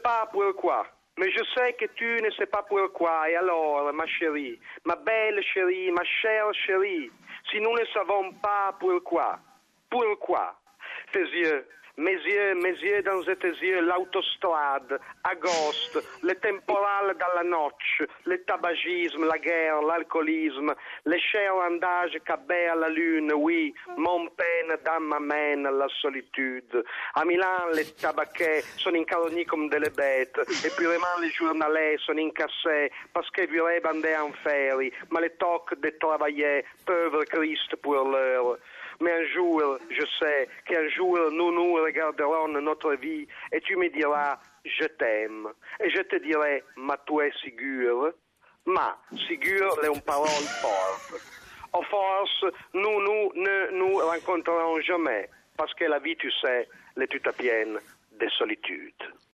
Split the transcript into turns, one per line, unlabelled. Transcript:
pas pourquoi. Mais je sais que tu ne sais pas pourquoi. Et alors, ma chérie, ma belle chérie, ma chère chérie, si nous ne savons pas pourquoi, mes yeux dans tes yeux, l'autostrade, agosto, le temporal dans la noche, le tabagisme, la guerre, l'alcoolisme, les chalandages cabés à la lune, oui, mon peine dans ma main, la solitude. À Milan, les tabaquets sont incarnés comme des bêtes, et puis vraiment les journalais sont incassés parce qu'ils voulaient aller en féerie, mais les toques de travailler, pauvre Christ pour l'heure. Mais un jour, je sais qu'un jour, nous regarderons notre vie et tu me diras, je t'aime. Et je te dirai, ma tu es sûr? Ma, sûr est une parole forte. Au force, nous ne nous rencontrerons jamais, parce que la vie, tu sais, elle est toute pleine de solitude.